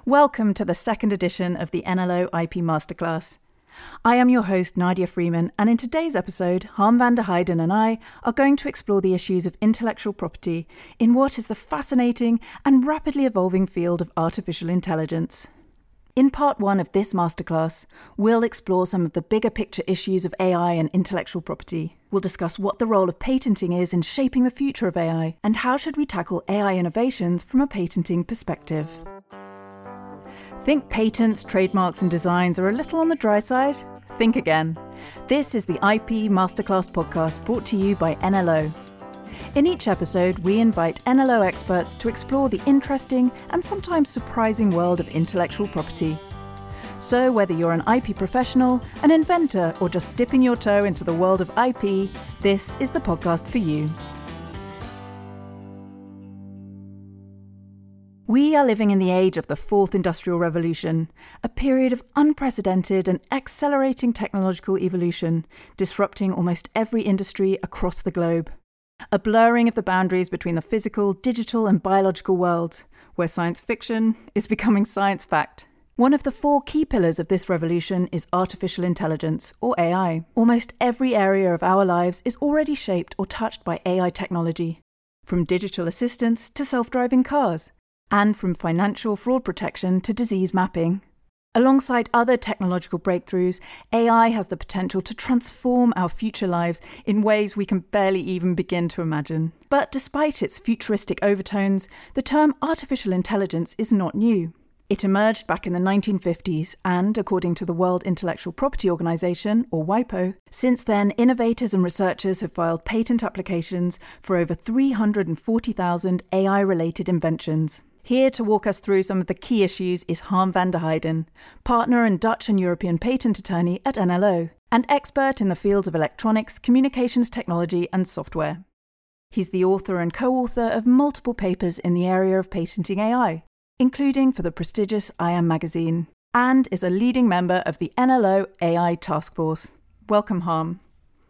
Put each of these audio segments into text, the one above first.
Welcome to the second edition of the NLO IP Masterclass. I am your host, Nadia Freeman, and in today's episode, Harm van der Heijden and I are going to explore the issues of intellectual property in what is the fascinating and rapidly evolving field of artificial intelligence. In part one of this masterclass, we'll explore some of the bigger picture issues of AI and intellectual property. We'll discuss what the role of patenting is in shaping the future of AI, and how should we tackle AI innovations from a patenting perspective. Think patents, trademarks and designs are a little on the dry side? Think again. This is the IP Masterclass podcast brought to you by NLO. In each episode, we invite NLO experts to explore the interesting and sometimes surprising world of intellectual property. So whether you're an IP professional, an inventor, or just dipping your toe into the world of IP, this is the podcast for you. We are living in the age of the Fourth Industrial Revolution, a period of unprecedented and accelerating technological evolution, disrupting almost every industry across the globe. A blurring of the boundaries between the physical, digital and biological worlds, where science fiction is becoming science fact. One of the four key pillars of this revolution is artificial intelligence, or AI. Almost every area of our lives is already shaped or touched by AI technology, from digital assistants to self-driving cars, and from financial fraud protection to disease mapping. Alongside other technological breakthroughs, AI has the potential to transform our future lives in ways we can barely even begin to imagine. But despite its futuristic overtones, the term artificial intelligence is not new. It emerged back in the 1950s and, according to the World Intellectual Property Organization, or WIPO, since then innovators and researchers have filed patent applications for over 340,000 AI-related inventions. Here to walk us through some of the key issues is Harm van der Heijden, partner and Dutch and European patent attorney at NLO, and expert in the fields of electronics, communications technology and software. He's the author and co-author of multiple papers in the area of patenting AI, including for the prestigious IAM magazine, and is a leading member of the NLO AI Task Force. Welcome, Harm.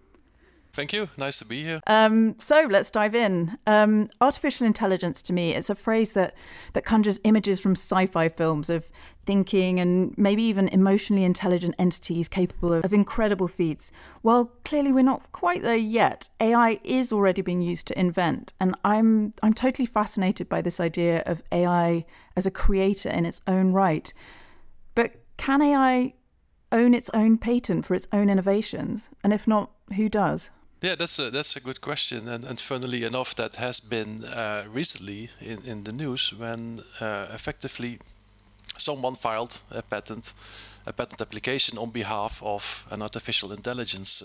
Thank you. Nice to be here. So let's dive in. Artificial intelligence, to me, it's a phrase that conjures images from sci-fi films of thinking and maybe even emotionally intelligent entities capable of incredible feats. While clearly we're not quite there yet, AI is already being used to invent. And I'm totally fascinated by this idea of AI as a creator in its own right. But can AI own its own patent for its own innovations? And if not, who does? Yeah, that's a good question, and funnily enough, that has been recently in the news when effectively someone filed a patent application on behalf of an artificial intelligence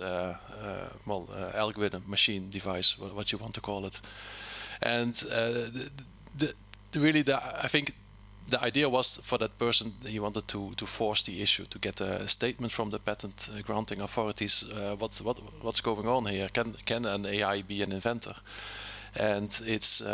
algorithm, machine, device, what you want to call it, and I think the idea was for that person, he wanted to force the issue, to get a statement from the patent granting authorities. What's going on here? Can an AI be an inventor? And it's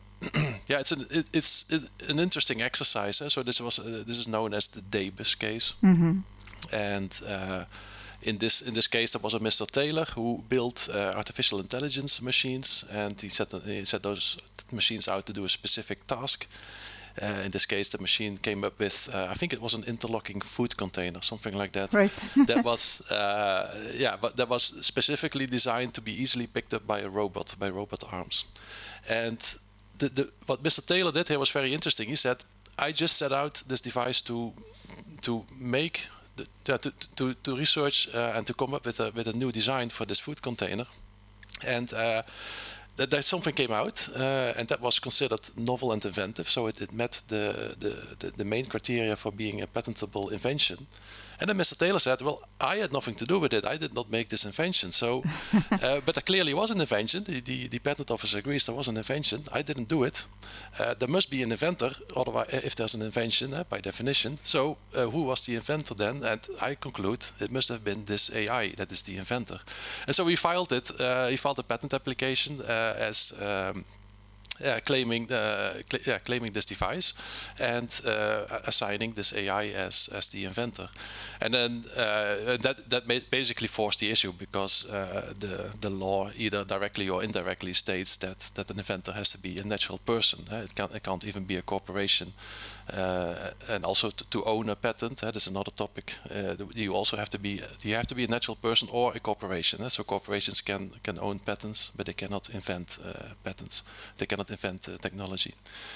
it's an interesting exercise. So this is known as the Davis case. Mm-hmm. And in this case, there was a Mr. Taylor who built artificial intelligence machines, and he set those machines out to do a specific task. In this case, the machine came up with, I think it was an interlocking food container, something like that. Right. That was, but that was specifically designed to be easily picked up by robot arms. And what Mr. Taylor did here was very interesting. He said, I just set out this device to make, to research and to come up with a new design for this food container. And that something came out, and that was considered novel and inventive, so it met the main criteria for being a patentable invention. And then Mr. Taylor said, well, I had nothing to do with it. I did not make this invention. So, but there clearly was an invention. The patent office agrees there was an invention. I didn't do it. There must be an inventor, otherwise, if there's an invention, by definition. So who was the inventor then? And I conclude it must have been this AI that is the inventor. And so we filed it. He filed a patent application as claiming this device and assigning this AI as the inventor. And then that basically forced the issue, because the law either directly or indirectly states that an inventor has to be a natural person. It can't even be a corporation. And also to own a patent, that's another topic. You have to be a natural person or a corporation. So corporations can own patents, but they cannot invent patents. They cannot invent technology.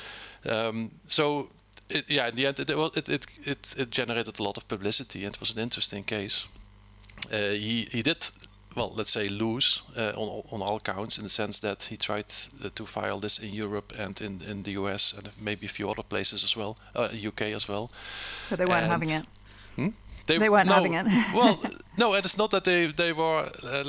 So in the end, it generated a lot of publicity, and it was an interesting case. He did, well, let's say, lose on all counts, in the sense that he tried to file this in Europe and in the US and maybe a few other places as well, UK as well. But they weren't having it. They weren't having it. Well, no, and it's not that they were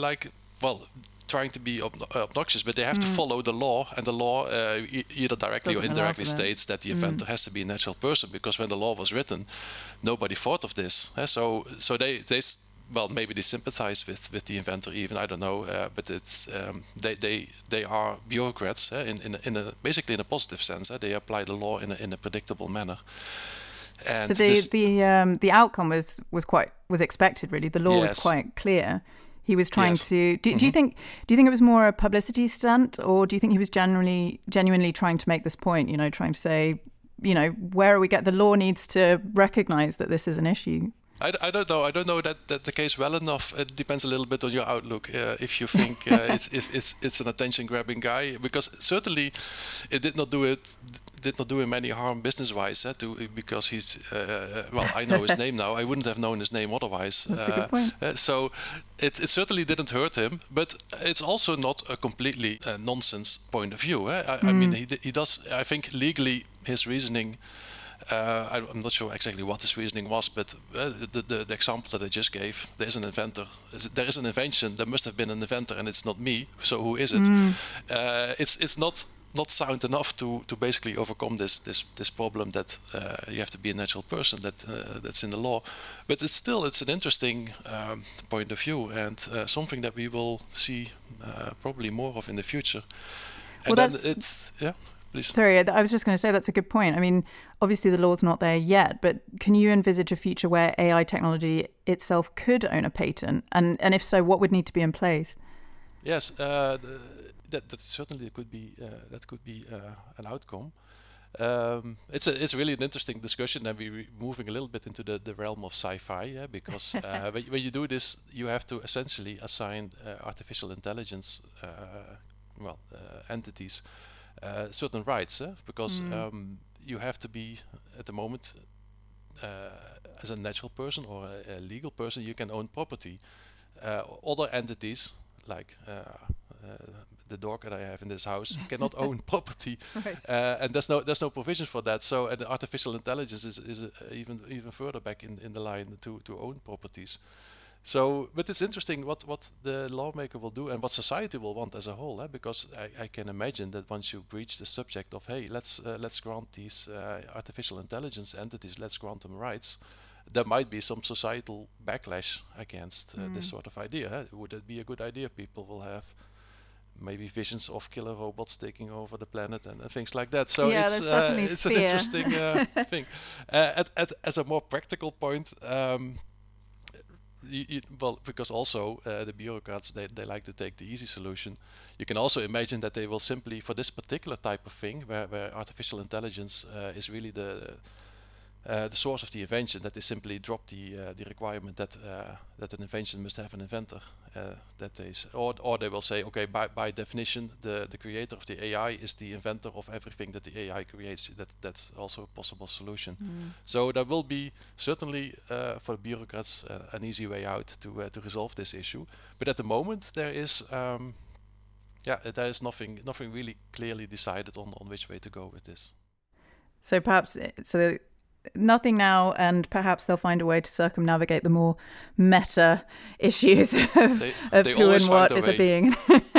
trying to be obnoxious, but they have to follow the law, and the law either directly Doesn't or indirectly states that the inventor has to be a natural person, because when the law was written, nobody thought of this. So they maybe they sympathize with the inventor even, I don't know, but it's they are bureaucrats basically in a positive sense. They apply the law in a predictable manner. And so the outcome was expected, really. The law was quite clear. He was trying to. Do you think it was more a publicity stunt, or do you think he was genuinely trying to make this point? Trying to say, where are we the law needs to recognize that this is an issue. I don't know. I don't know that the case well enough. It depends a little bit on your outlook. If you think it's an attention-grabbing guy, because certainly it did not do him any harm business-wise. Because he's I know his name now. I wouldn't have known his name otherwise. That's a good point. So it certainly didn't hurt him, but it's also not a completely nonsense point of view. I mean, he does. I think legally his reasoning. I'm not sure exactly what his reasoning was, but the example that I just gave, there is an inventor. There is an invention. There must have been an inventor, and it's not me. So who is it? It's not sound enough to basically overcome this problem that you have to be a natural person that's in the law. But it's an interesting point of view, and something that we will see probably more of in the future. And well, then it's Sorry, I was just going to say that's a good point. I mean, obviously the law's not there yet, but can you envisage a future where AI technology itself could own a patent? And if so, what would need to be in place? Yes, that certainly could be an outcome. It's really an interesting discussion, and we're moving a little bit into the realm of sci-fi, because when you do this, you have to essentially assign artificial intelligence entities certain rights, because you have to be, at the moment, as a natural person or a legal person, you can own property. Other entities, like the dog that I have in this house, cannot own property, right. And there's no provision for that. So the artificial intelligence is even further back in the line to own properties. So, but it's interesting what the lawmaker will do and what society will want as a whole, because I can imagine that once you breach the subject of, hey, let's grant these artificial intelligence entities, let's grant them rights, there might be some societal backlash against this sort of idea. Would it be a good idea? People will have maybe visions of killer robots taking over the planet and things like that. So it's an interesting thing. As a more practical point. Because also the bureaucrats, they like to take the easy solution. You can also imagine that they will simply, for this particular type of thing, where artificial intelligence is really the source of the invention, that they simply drop the requirement that an invention must have an inventor. Or they will say, okay, by definition, the creator of the AI is the inventor of everything that the AI creates. That's also a possible solution. So there will be certainly for the bureaucrats an easy way out to resolve this issue. But at the moment, there is nothing really clearly decided on which way to go with this. So perhaps nothing now, and perhaps they'll find a way to circumnavigate the more meta issues of who and what is a being.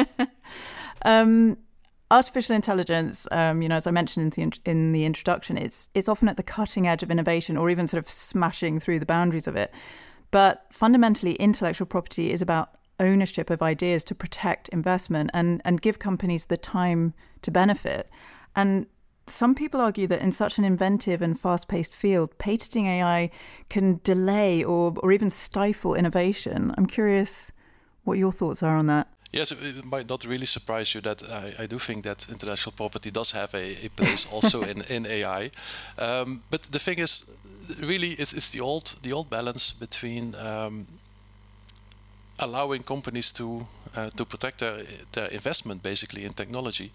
Artificial intelligence, as I mentioned in the introduction, it's often at the cutting edge of innovation, or even sort of smashing through the boundaries of it. But fundamentally, intellectual property is about ownership of ideas to protect investment and give companies the time to benefit. And some people argue that in such an inventive and fast-paced field, patenting AI can delay or even stifle innovation. I'm curious what your thoughts are on that. Yes, it might not really surprise you that I do think that intellectual property does have a place also in AI. But the thing is, really, it's the old balance between allowing companies to protect their investment basically in technology.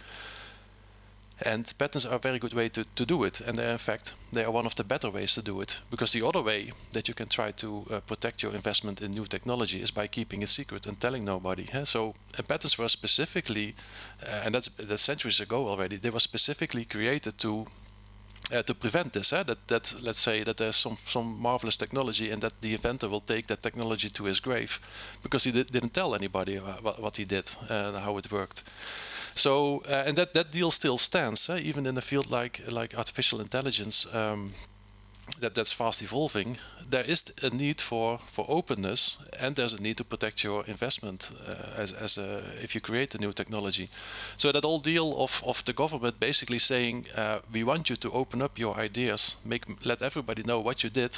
And patents are a very good way to do it, and in fact they are one of the better ways to do it, because the other way that you can try to protect your investment in new technology is by keeping it secret and telling nobody. So patents were specifically, and that's centuries ago already, they were specifically created to prevent this. That let's say that there's some marvelous technology and that the inventor will take that technology to his grave because he didn't tell anybody what he did and how it worked. So and that deal still stands, even in a field like artificial intelligence that's fast evolving. There is a need for openness, and there's a need to protect your investment if you create a new technology. So that whole deal of the government basically saying we want you to open up your ideas, let everybody know what you did.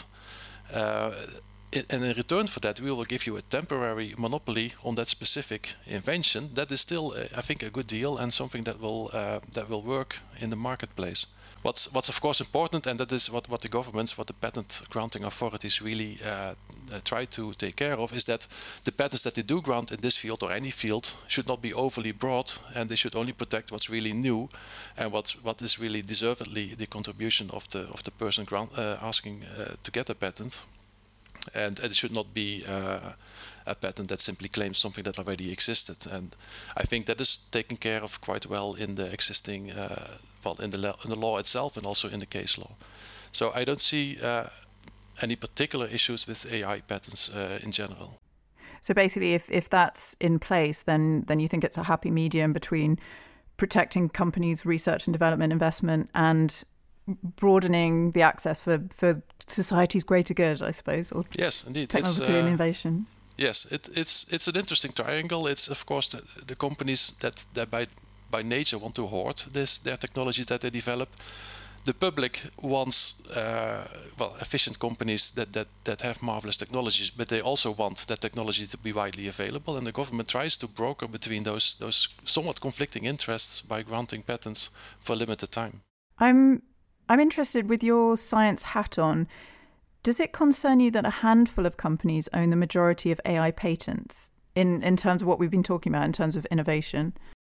And in return for that, we will give you a temporary monopoly on that specific invention. That is still, I think, a good deal and something that will work in the marketplace. What's of course important, and that is what the governments, what the patent granting authorities really try to take care of, is that the patents that they do grant in this field or any field should not be overly broad, and they should only protect what's really new and what is really deservedly the contribution of the person asking to get a patent. And it should not be a patent that simply claims something that already existed. And I think that is taken care of quite well in the existing, in the law itself and also in the case law. So I don't see any particular issues with AI patents in general. So basically, if that's in place, then you think it's a happy medium between protecting companies' research and development investment and broadening the access for society's greater good, I suppose, or yes, indeed, technological innovation. Yes, it's an interesting triangle. It's of course the companies that by nature want to hoard their technology that they develop. The public wants efficient companies that have marvelous technologies, but they also want that technology to be widely available. And the government tries to broker between those somewhat conflicting interests by granting patents for a limited time. I'm interested, with your science hat on, does it concern you that a handful of companies own the majority of AI patents in terms of what we've been talking about in terms of innovation?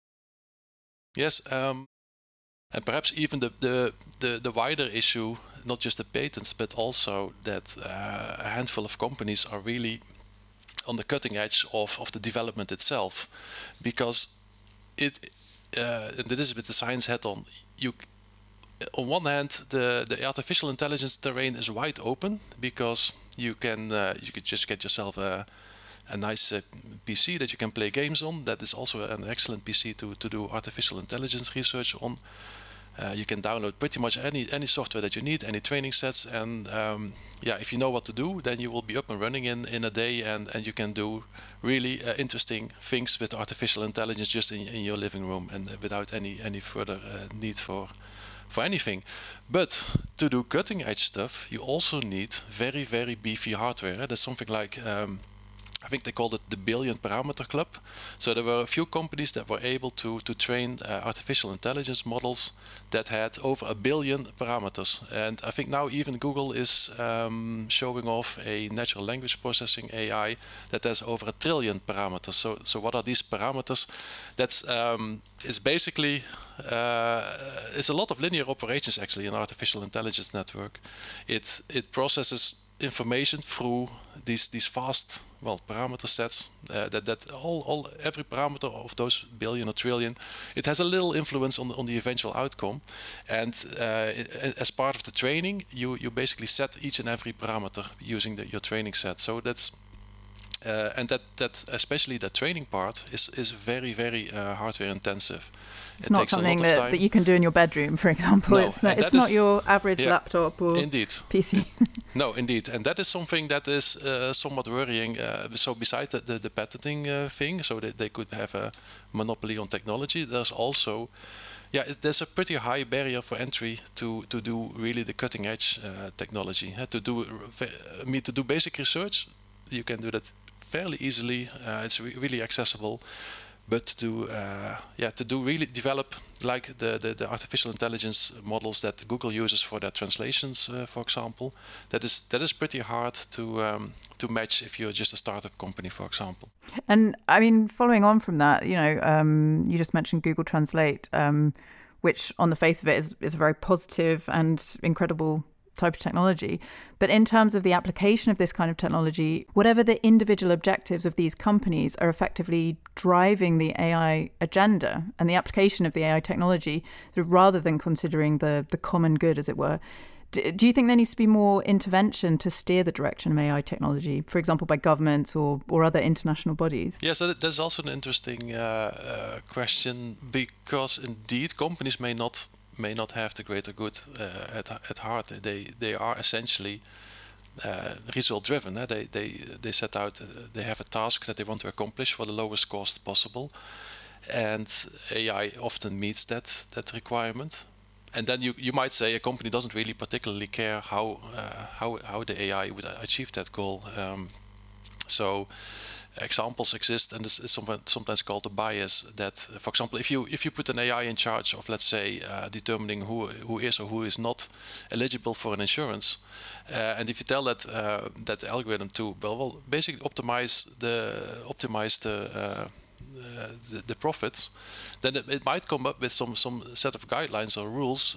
Yes, and perhaps even the wider issue, not just the patents, but also that a handful of companies are really on the cutting edge of the development itself, because and this is with the science hat on. On one hand, the artificial intelligence terrain is wide open because you could just get yourself a nice PC that you can play games on. That is also an excellent PC to do artificial intelligence research on. You can download pretty much any software that you need, any training sets, and if you know what to do, then you will be up and running in a day, and you can do really interesting things with artificial intelligence just in your living room and without any further need for anything. But to do cutting edge stuff, you also need very, very beefy hardware. That's something like I think they called it the billion parameter club. So there were a few companies that were able to train artificial intelligence models that had over 1 billion parameters. And I think now even Google is showing off a natural language processing AI that has over 1 trillion parameters. So what are these parameters? That's it's basically it's a lot of linear operations actually in artificial intelligence network. It processes information through these fast parameter sets that every parameter of those billion or trillion, it has a little influence on the eventual outcome, and as part of the training you basically set each and every parameter using your training set. So that's and that especially the training part is very, very hardware intensive. It's not something that you can do in your bedroom, for example. No, it's not your average laptop or indeed PC. No, indeed, and that is something that is somewhat worrying. So besides the patenting thing, so that they could have a monopoly on technology, there's also, there's a pretty high barrier for entry to do really the cutting edge technology. To do basic research, you can do that fairly easily. It's really accessible. But to really develop like the artificial intelligence models that Google uses for their translations, for example, that is pretty hard to match if you're just a startup company, for example. And I mean, following on from that, you just mentioned Google Translate, which on the face of it is a very positive and incredible type of technology. But in terms of the application of this kind of technology, whatever the individual objectives of these companies are effectively driving the AI agenda and the application of the AI technology, rather than considering the common good, as it were. Do you think there needs to be more intervention to steer the direction of AI technology, for example, by governments or other international bodies? Yes, that's also an interesting question, because indeed companies may not have the greater good at heart. They are essentially result driven. They set out, they have a task that they want to accomplish for the lowest cost possible, and AI often meets that requirement. And then you might say a company doesn't really particularly care how the AI would achieve that goal. So examples exist, and this is sometimes called a bias. That, for example, if you put an AI in charge of, let's say, determining who is or who is not eligible for an insurance, and if you tell that algorithm to basically optimize the profits, then it might come up with some set of guidelines or rules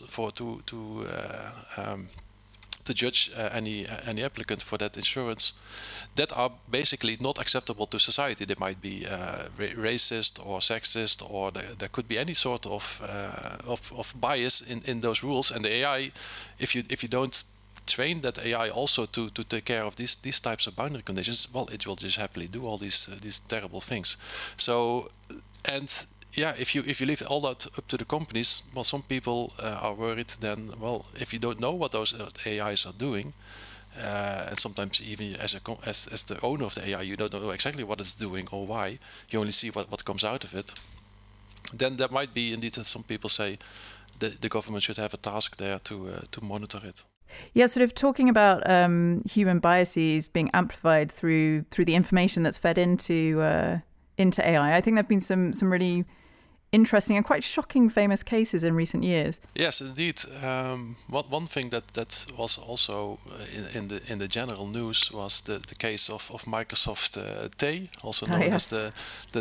to judge any applicant for that insurance that are basically not acceptable to society. They might be racist or sexist, or there could be any sort of bias in those rules. And the AI, if you don't train that AI also to take care of these types of boundary conditions, well, it will just happily do all these terrible things. So, and if you leave all that up to the companies, well, some people are worried then, well, if you don't know what those AIs are doing, and sometimes even as the owner of the AI, you don't know exactly what it's doing or why, you only see what comes out of it, then there might be indeed that some people say the government should have a task there to monitor it. Yeah, sort of talking about human biases being amplified through the information that's fed into AI. I think there've been some really interesting and quite shocking famous cases in recent years. Yes, indeed. One thing that was also in the general news was the case of Microsoft Tay, also known as the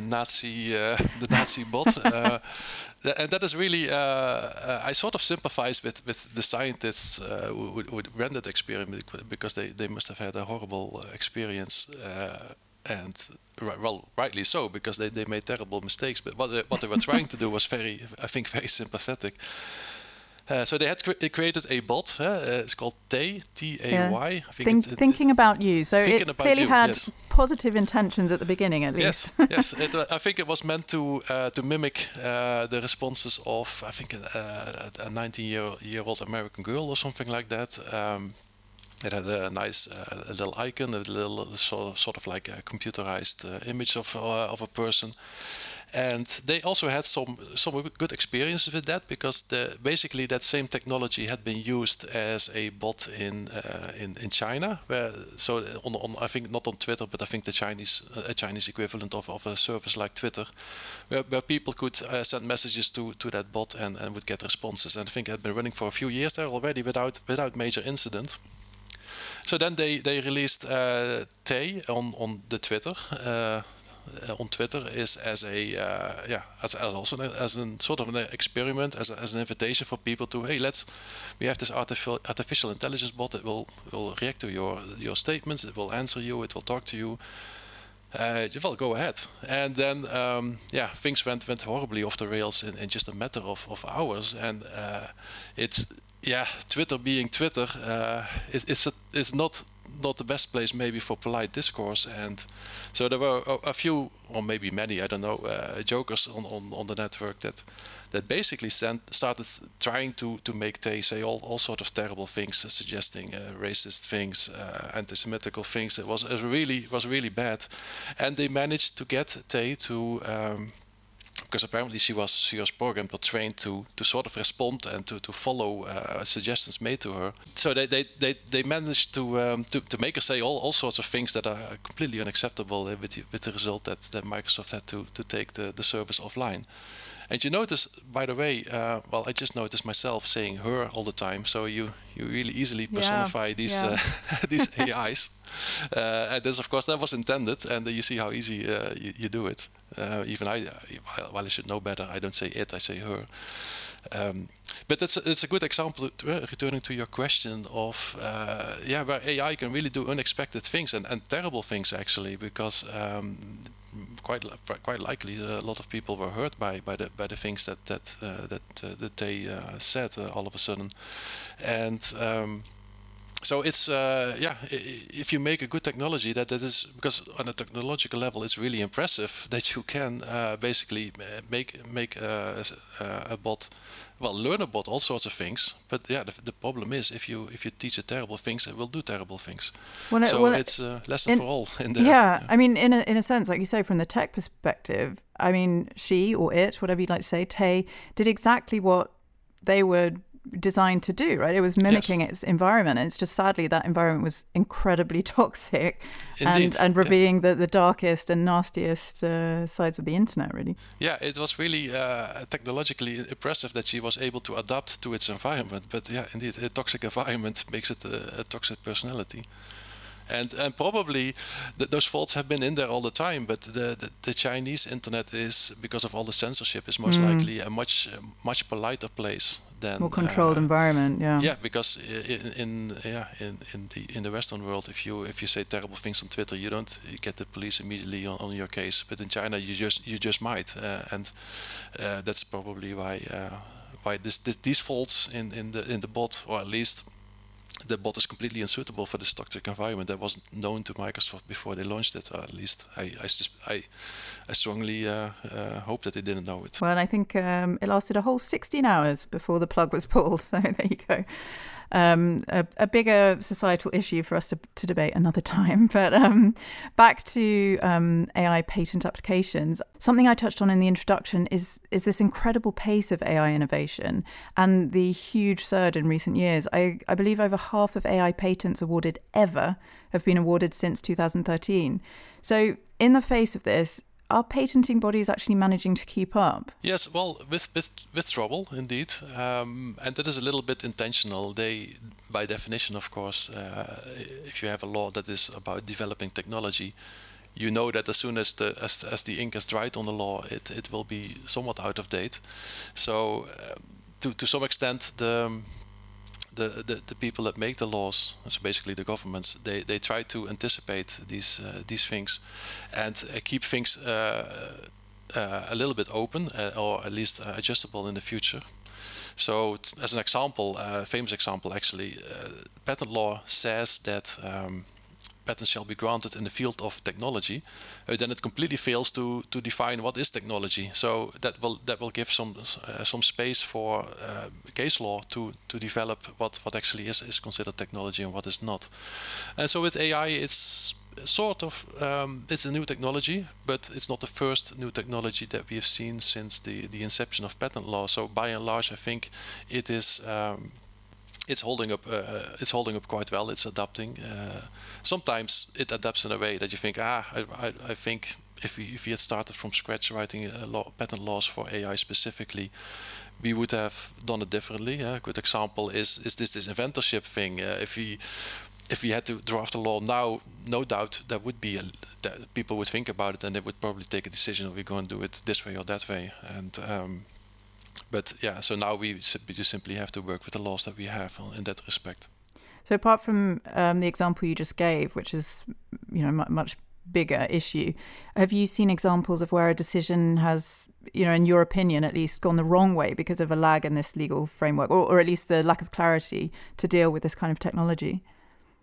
Nazi bot. And that is really, I sort of sympathize with the scientists who ran that experiment, because they must have had a horrible experience, and rightly so, because they made terrible mistakes. But what they were trying to do was very sympathetic. So they created a bot. It's called Tay, T-A-Y. Thinking about you. So it clearly had positive intentions at the beginning, at least. Yes. I think it was meant to mimic the responses of, I think, a 19-year-old American girl or something like that. It had a nice little icon, a little sort of like a computerized image of a person. And they also had some good experiences with that, because basically that same technology had been used as a bot in China, on I think not on Twitter, but I think the Chinese equivalent of a service like Twitter, where people could send messages to that bot and would get responses. And I think it had been running for a few years there already without major incident. So then they released Tay on the Twitter. On Twitter is as a sort of an experiment, as an invitation for people to, hey, we have this artificial intelligence bot that will react to your statements, it will answer you, it will talk to you. Well, go ahead. And then things went horribly off the rails in just a matter of hours. And Twitter being Twitter, is not not the best place maybe for polite discourse. And so there were a few, or maybe many, I don't know, jokers on the network that basically started trying to make Tay say all sort of terrible things, suggesting racist things, anti-Semitical things. It was really bad, and they managed to get Tay to. Because apparently she was programmed or trained to sort of respond and to follow suggestions made to her. So they managed to make her say all sorts of things that are completely unacceptable, with the result that Microsoft had to take the service offline. And you notice, by the way, I just noticed myself saying her all the time. So you really easily personify these these AIs. And this, of course, that was intended, and you see how easy you do it. Even I should know better, I don't say it, I say her. But it's a good example, returning to your question, of where AI can really do unexpected things and terrible things, actually, because quite likely a lot of people were hurt by the things that they said all of a sudden. And so it's if you make a good technology, that is, because on a technological level it's really impressive that you can basically make a bot, learn a bot all sorts of things. But the problem is if you teach it terrible things, it will do terrible things. It's a lesson for all in there. Yeah, I mean, in a sense, like you say, from the tech perspective, I mean, she or it, whatever you'd like to say, Tay, did exactly what they were designed to do, right? It was mimicking its environment, and it's just sadly that environment was incredibly toxic. Indeed. and revealing the darkest and nastiest sides of the internet, really. Yeah, it was really technologically impressive that she was able to adapt to its environment. But yeah, indeed, a toxic environment makes it a toxic personality. And probably those faults have been in there all the time, but the Chinese internet is, because of all the censorship, is most likely a much politer place than more controlled environment. Yeah, because in the Western world, if you say terrible things on Twitter, you get the police immediately on your case. But in China, you just might, and that's probably why these faults in the bot, or at least the bot, is completely unsuitable for this toxic environment. That wasn't known to Microsoft before they launched it, or at least I strongly hope that they didn't know it. Well, I think it lasted a whole 16 hours before the plug was pulled, so there you go. A bigger societal issue for us to debate another time. But back to AI patent applications. Something I touched on in the introduction is this incredible pace of AI innovation and the huge surge in recent years. I believe over half of AI patents awarded ever have been awarded since 2013. So in the face of this, are patenting bodies actually managing to keep up? Yes, well, with trouble, indeed. And that is a little bit intentional. They, by definition, of course, if you have a law that is about developing technology, you know that as soon as the ink has dried on the law, it will be somewhat out of date. So to some extent, the people that make the laws, so basically the governments, they try to anticipate these things and keep things a little bit open, or at least adjustable in the future. So as an example, a famous example actually, patent law says that patents shall be granted in the field of technology, then it completely fails to define what is technology. So that will give some space for case law to develop what actually is considered technology and what is not. And so with AI, it's sort of it's a new technology, but it's not the first new technology that we have seen since the inception of patent law. So by and large, I think it is. It's holding up. It's holding up quite well. It's adapting. Sometimes it adapts in a way that you think, I think if we had started from scratch writing patent laws for AI specifically, we would have done it differently. A good example is this inventorship thing. If we had to draft a law now, no doubt that would be that people would think about it and they would probably take a decision: are we going to do it this way or that way? And but yeah, so now we just simply have to work with the laws that we have in that respect. So apart from the example you just gave, which is much bigger issue, have you seen examples of where a decision has, in your opinion at least, gone the wrong way because of a lag in this legal framework, or at least the lack of clarity to deal with this kind of technology?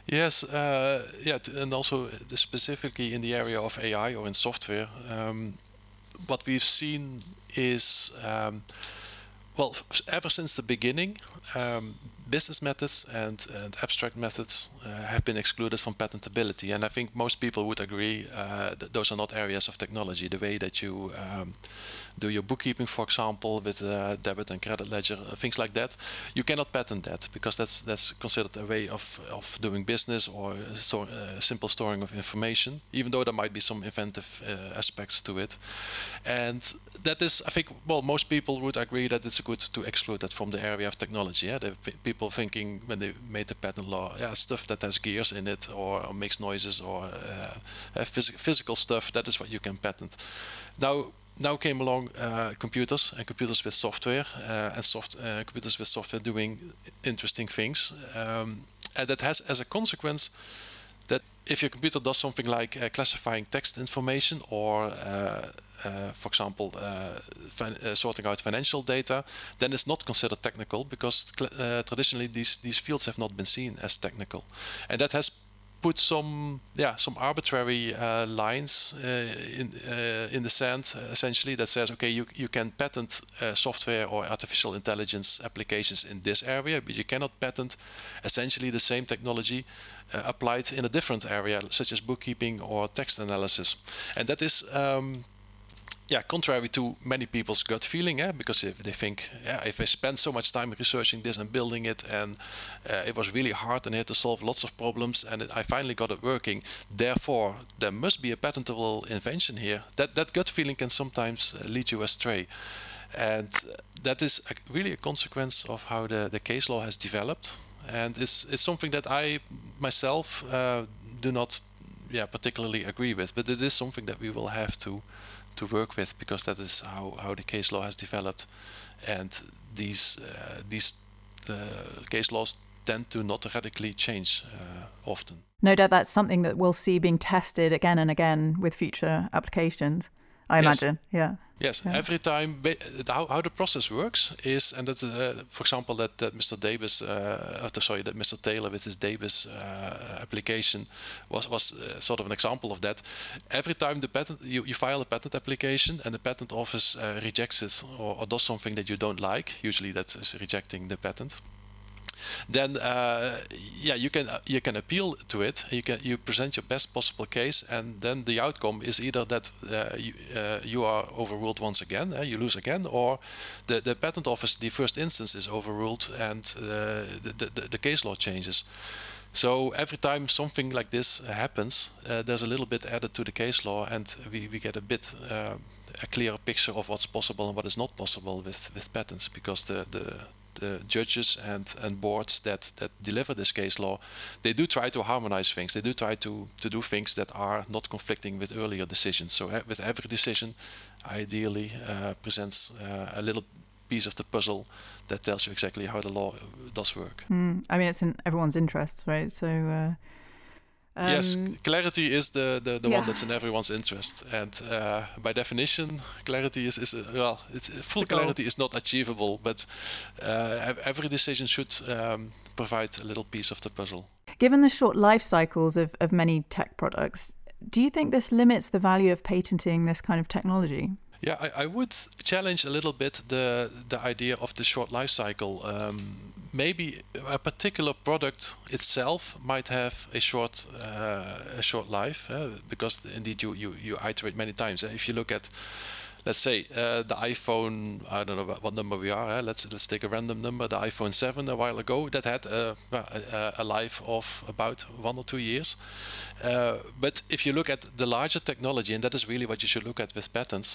Yes, and also specifically in the area of AI or in software, what we've seen is well, ever since the beginning, business methods and abstract methods have been excluded from patentability. And I think most people would agree that those are not areas of technology. The way that you do your bookkeeping, for example, with debit and credit ledger, things like that, you cannot patent that because that's considered a way of doing business or simple storing of information, even though there might be some inventive aspects to it. And that is, I think, well, most people would agree that it's good to exclude that from the area of technology. Yeah, the people thinking when they made the patent law, yeah, stuff that has gears in it or makes noises or physical stuff, that is what you can patent. Now came along computers and computers with software and computers with software doing interesting things, and that has as a consequence that if your computer does something like classifying text information or for example, sorting out financial data, then it's not considered technical because traditionally these fields have not been seen as technical, and that has put some arbitrary lines in the sand, essentially, that says, okay, you can patent software or artificial intelligence applications in this area, but you cannot patent essentially the same technology applied in a different area, such as bookkeeping or text analysis. And that is contrary to many people's gut feeling, because if they think, if I spend so much time researching this and building it, and it was really hard and I had to solve lots of problems, and I finally got it working, therefore there must be a patentable invention here. That gut feeling can sometimes lead you astray. And that is really a consequence of how the case law has developed. And it's something that I myself do not particularly agree with, but it is something that we will have to work with, because that is how the case law has developed, and these case laws tend to not radically change often. No doubt that's something that we'll see being tested again and again with future applications, I imagine. Yeah. Yes, yeah. Every time, how the process works is, and that's for example that Mr. Davis, that Mr. Taylor with his Davis application was sort of an example of that. Every time the patent, you file a patent application and the patent office rejects it or does something that you don't like. Usually that is rejecting the patent. Then you can appeal to it. You present your best possible case, and then the outcome is either that you are overruled once again, you lose again, or the patent office, the first instance, is overruled and the case law changes. So every time something like this happens, there's a little bit added to the case law, and we get a bit a clearer picture of what's possible and what is not possible with patents, because the judges and boards that deliver this case law, they do try to harmonize things. They do try to do things that are not conflicting with earlier decisions. So with every decision, ideally presents a little piece of the puzzle that tells you exactly how the law does work. I mean, it's in everyone's interests, right? So yes, clarity is the one that's in everyone's interest, and by definition, clarity is full clarity is not achievable, but every decision should provide a little piece of the puzzle. Given the short life cycles of many tech products, do you think this limits the value of patenting this kind of technology? Yeah, I would challenge a little bit the idea of the short life cycle. Maybe a particular product itself might have a short life, because indeed you iterate many times. If you look at, let's say, the iPhone, I don't know what number we are. Let's take a random number. The iPhone 7 a while ago, that had a life of about 1 or 2 years. But if you look at the larger technology, and that is really what you should look at with patents,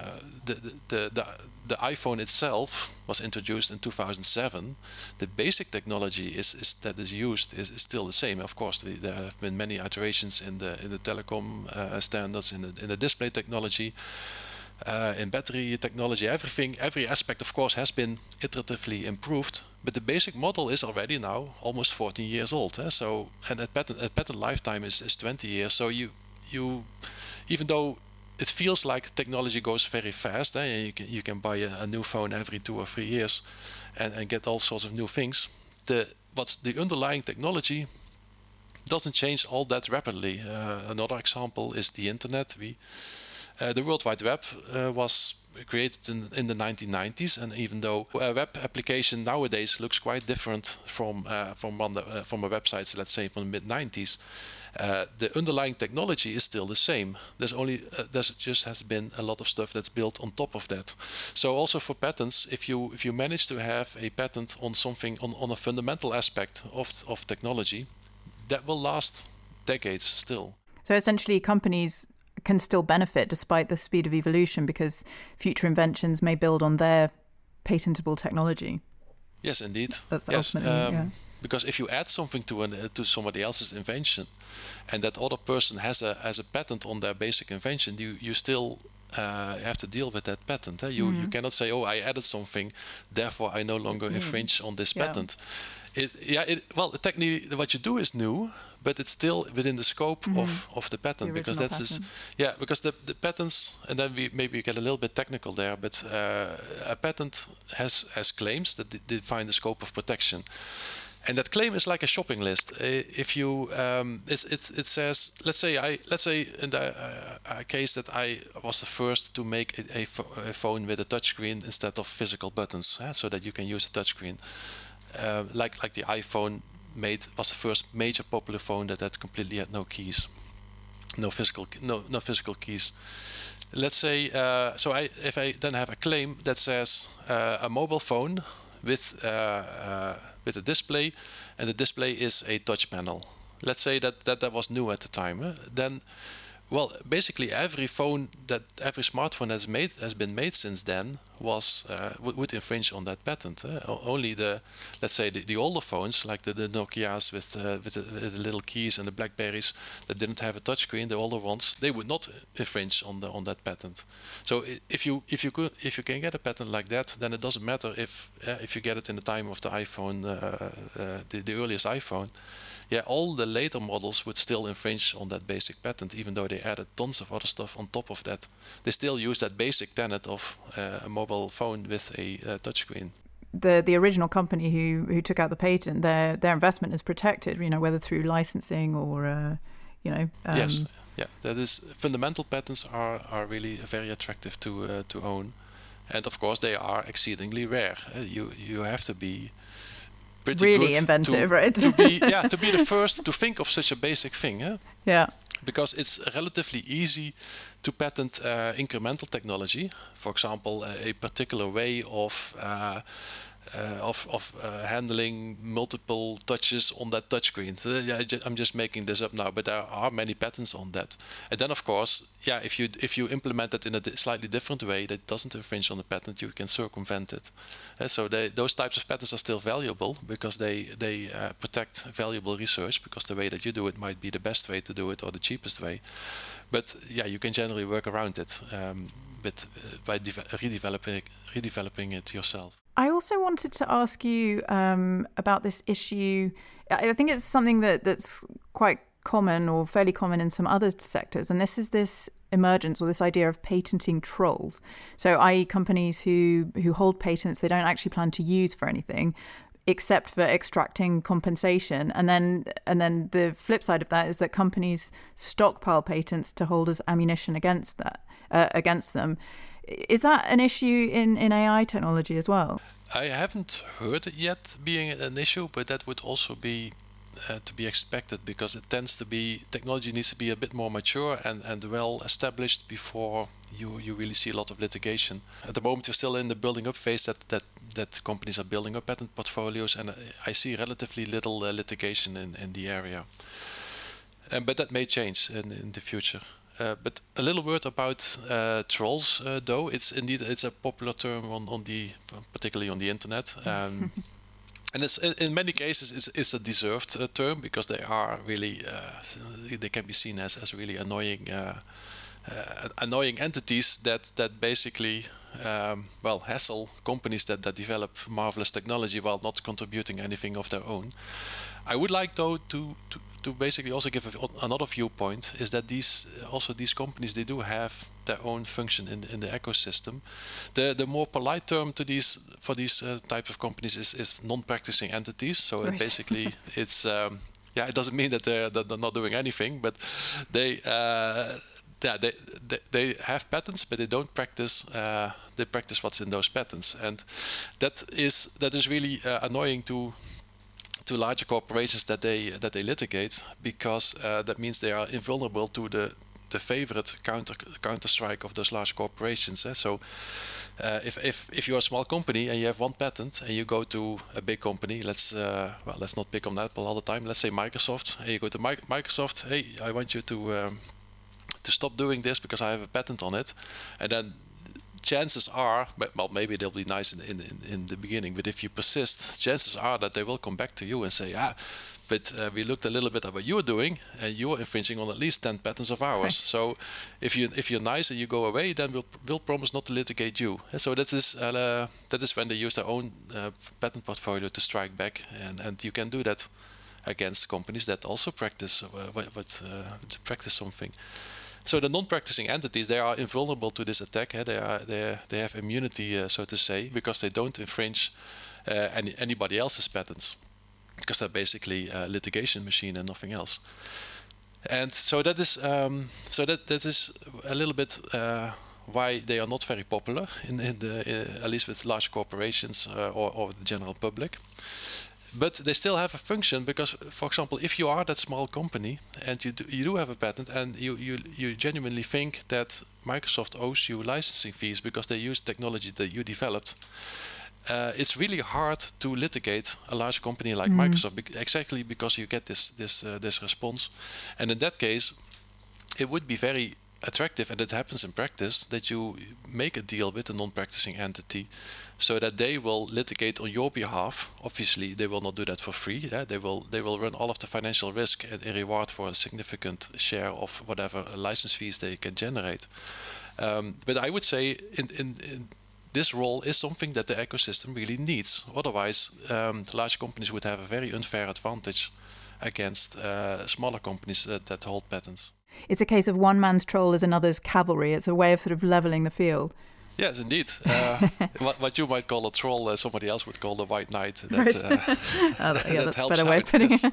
the iPhone itself was introduced in 2007. The basic technology that is used is still the same. Of course, there have been many iterations in the telecom standards, in the display technology. In battery technology, every aspect, of course, has been iteratively improved, but the basic model is already now almost 14 years old. So, and a patent lifetime is 20 years. So you even though it feels like technology goes very fast, you can buy a new phone every 2 or 3 years and get all sorts of new things. What's the underlying technology doesn't change all that rapidly. Another example is the internet. The World Wide Web was created in the 1990s, and even though a web application nowadays looks quite different from a website, let's say from the mid 90s, the underlying technology is still the same. There's just has been a lot of stuff that's built on top of that. So also for patents, if you manage to have a patent on something on a fundamental aspect of technology, that will last decades still. So essentially, companies can still benefit despite the speed of evolution because future inventions may build on their patentable technology. Yes, indeed. That's ultimately, because if you add something to somebody else's invention, and that other person has a patent on their basic invention, you still have to deal with that patent. You cannot say, oh, I added something, therefore I no longer infringe on this patent. Well, technically what you do is new, but it's still within the scope of the patent, because because the patents, and then we get a little bit technical there, but a patent has claims that define the scope of protection. And that claim is like a shopping list. If you, it says, let's say in the case that I was the first to make a phone with a touchscreen instead of physical buttons, so that you can use a touchscreen. Like the iPhone was the first major popular phone that completely had no keys, no physical keys. Let's say, if I then have a claim that says a mobile phone with a display, and the display is a touch panel. Let's say that was new at the time. Then, well, basically every smartphone has been made since then would infringe on that patent. Only let's say the older phones, like the Nokias with the little keys and the BlackBerries that didn't have a touchscreen, the older ones, they would not infringe on that patent. So if you can get a patent like that, then it doesn't matter if you get it in the time of the iPhone, the earliest iPhone. Yeah, all the later models would still infringe on that basic patent, even though they added tons of other stuff on top of that. They still use that basic tenet of a mobile phone with a touchscreen. The original company who took out the patent, their investment is protected, whether through licensing or, Yes, yeah, that is, fundamental patents are really very attractive to own, and of course they are exceedingly rare. You have to be really inventive, right? to be the first to think of such a basic thing. Yeah. Because it's relatively easy to patent incremental technology. For example, a particular way of handling multiple touches on that touchscreen. So, I'm just making this up now, but there are many patents on that. And then, of course, if you implement it in a slightly different way that doesn't infringe on the patent, you can circumvent it. So those types of patents are still valuable because they protect valuable research, because the way that you do it might be the best way to do it or the cheapest way. But you can generally work around it by redeveloping it yourself. I also wanted to ask you about this issue. I think it's something that's quite common or fairly common in some other sectors, and this is this emergence or this idea of patenting trolls. So, i.e. companies who hold patents they don't actually plan to use for anything except for extracting compensation. And then the flip side of that is that companies stockpile patents to hold as ammunition against them. Is that an issue in AI technology as well? I haven't heard it yet being an issue, but that would also be to be expected, because it tends to be, technology needs to be a bit more mature and well established before you really see a lot of litigation. At the moment, we're still in the building up phase that companies are building up patent portfolios, and I see relatively little litigation in the area. But that may change in the future. But a little word about trolls, though. It's a popular term particularly on the internet. And it's, in many cases, it's a deserved term, because they are really, they can be seen as really annoying entities that basically, hassle companies that develop marvelous technology while not contributing anything of their own. I would like, though, to basically also give another viewpoint, is that these companies, they do have their own function in the ecosystem. The more polite term for these types of companies is non-practicing entities. So basically it's it doesn't mean that they're not doing anything, but they have patents, but they don't practice. They practice what's in those patents, and that is really annoying to larger corporations that they litigate, because that means they are invulnerable to the favorite counter strike of those large corporations. So if you're a small company and you have one patent and you go to a big company, let's not pick on Apple all the time, let's say Microsoft, and you go to Microsoft, hey, I want you to stop doing this because I have a patent on it, and then chances are, well, maybe they'll be nice in the beginning, but if you persist, chances are that they will come back to you and say, but we looked a little bit at what you were doing, and you are infringing on at least 10 patents of ours. Right. So if you're nice and you go away, then we'll promise not to litigate you. And so that is when they use their own patent portfolio to strike back, and you can do that against companies that also practice practice something. So the non-practicing entities, they are invulnerable to this attack. They have immunity, so to say, because they don't infringe anybody else's patents, because they're basically a litigation machine and nothing else. And so that is that is a little bit why they are not very popular at least with large corporations or the general public. But they still have a function, because, for example, if you are that small company and you do have a patent, and you genuinely think that Microsoft owes you licensing fees because they use technology that you developed, it's really hard to litigate a large company like Microsoft, exactly because you get this response. And in that case, it would be very attractive, and it happens in practice, that you make a deal with a non-practicing entity so that they will litigate on your behalf. Obviously, they will not do that for free. They will run all of the financial risk in reward for a significant share of whatever license fees they can generate. But I would say in this role is something that the ecosystem really needs. Otherwise, large companies would have a very unfair advantage against smaller companies that hold patents. It's a case of one man's troll is another's cavalry. It's a way of sort of leveling the field. Yes, indeed. What you might call a troll, somebody else would call the white knight. That's a better way of putting it.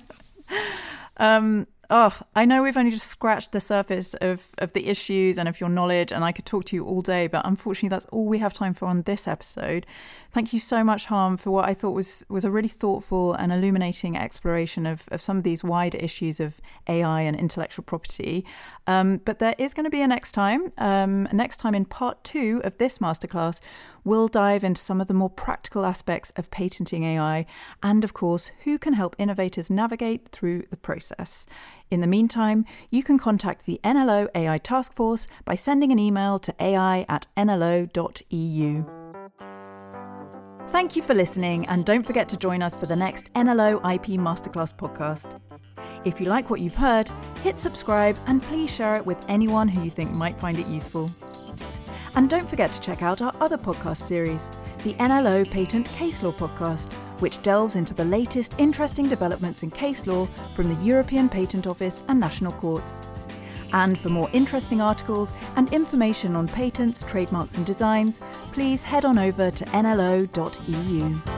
I know we've only just scratched the surface of the issues and of your knowledge, and I could talk to you all day, but unfortunately that's all we have time for on this episode. Thank you so much, Harm, for what I thought was a really thoughtful and illuminating exploration of some of these wider issues of AI and intellectual property. But there is going to be a next time. Next time, in part 2 of this masterclass, we'll dive into some of the more practical aspects of patenting AI and, of course, who can help innovators navigate through the process. In the meantime, you can contact the NLO AI Task Force by sending an email to ai@nlo.eu. Thank you for listening, and don't forget to join us for the next NLO IP Masterclass podcast. If you like what you've heard, hit subscribe and please share it with anyone who you think might find it useful. And don't forget to check out our other podcast series, the NLO Patent Case Law Podcast, which delves into the latest interesting developments in case law from the European Patent Office and national courts. And for more interesting articles and information on patents, trademarks and designs, please head on over to nlo.eu.